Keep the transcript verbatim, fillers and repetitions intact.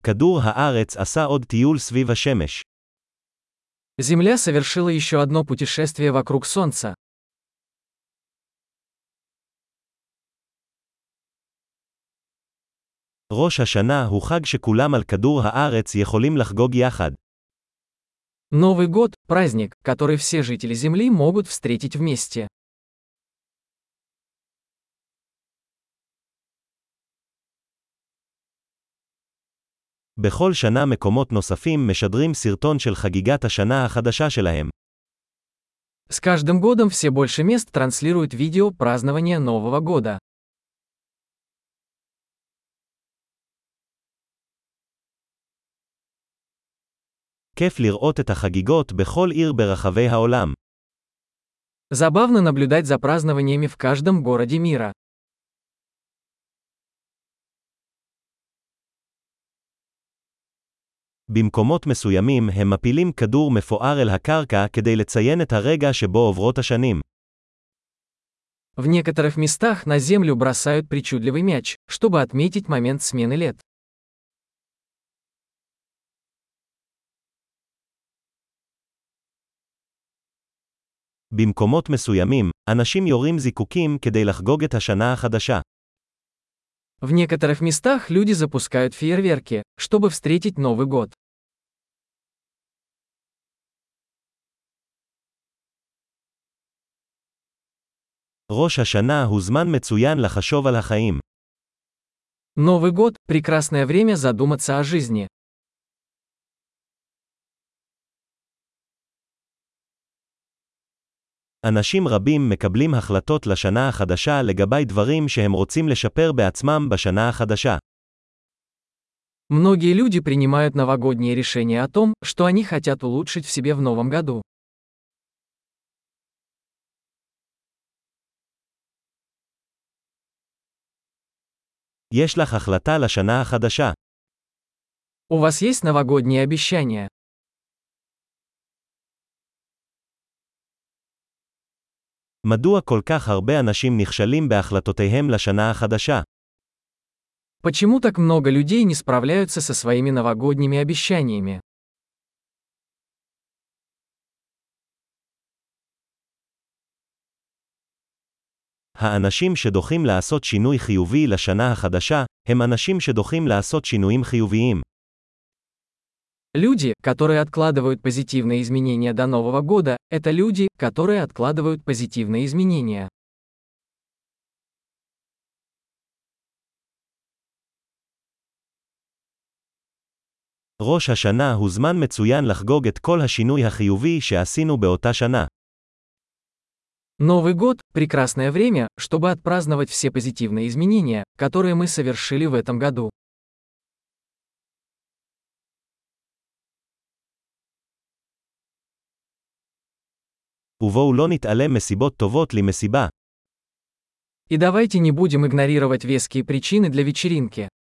כדור הארץ עשה עוד טיול סביב השמש. Земля совершила еще одно путешествие вокруг Солнца. ראש השנה הוא חג שכולם על כדור הארץ יכולים לחגוג יחד. Новый год – праздник, который все жители Земли могут встретить вместе. בכל שנה מקומות נוספים משדרים סרטון של חגיגת השנה החדשה שלהם. С каждым годом все больше мест транслируют видео празднования Нового года. כיף לראות את החגיגות בכל עיר ברחבי העולם. Забавно наблюдать за празднованиями в каждом городе мира. במקומות מסוימים הם מפילים כדור מפואר אל הקרקע כדי לציין את הרגע שבו עוברות השנים. В некоторых местах на землю бросают причудливый мяч, чтобы отметить момент смены лет. במקומות מסוימים, אנשים יורים זיקוקים כדי לחגוג את השנה החדשה. В некоторых местах люди запускают фейерверки, чтобы встретить Новый год. ראש השנה הוא זמן מצוין לחשוב על החיים. Новый год – прекрасное время задуматься о жизни. אנשים רבים מקבלים החלטות לשנה החדשה לגבי דברים שהם רוצים לשפר בעצמם בשנה החדשה. Многие люди принимают новогодние решения о том, что они хотят улучшить в себе в новом году. יש לך החלטה לשנה החדשה. У вас есть новогодние обещания? מדוע כל כך הרבה אנשים נכשלים בהחלטותיהם לשנה החדשה? Почему так много людей не справляются со своими новогодними обещаниями? האנשים שדוחים לעשות שינוי חיובי לשנה החדשה, הם אנשים שדוחים לעשות שינויים חיוביים. Люди, которые откладывают позитивные изменения до Нового года, это люди, которые откладывают позитивные изменения. ראש השנה הוא זמן מצוין לחגוג את כל השינוי החיובי שעשינו באותה שנה. Новый год – прекрасное время, чтобы отпраздновать все позитивные изменения, которые мы совершили в этом году. ובואו לא נתעלם מסיבות טובות למסיבה. И давайте не будем игнорировать веские причины для вечеринки.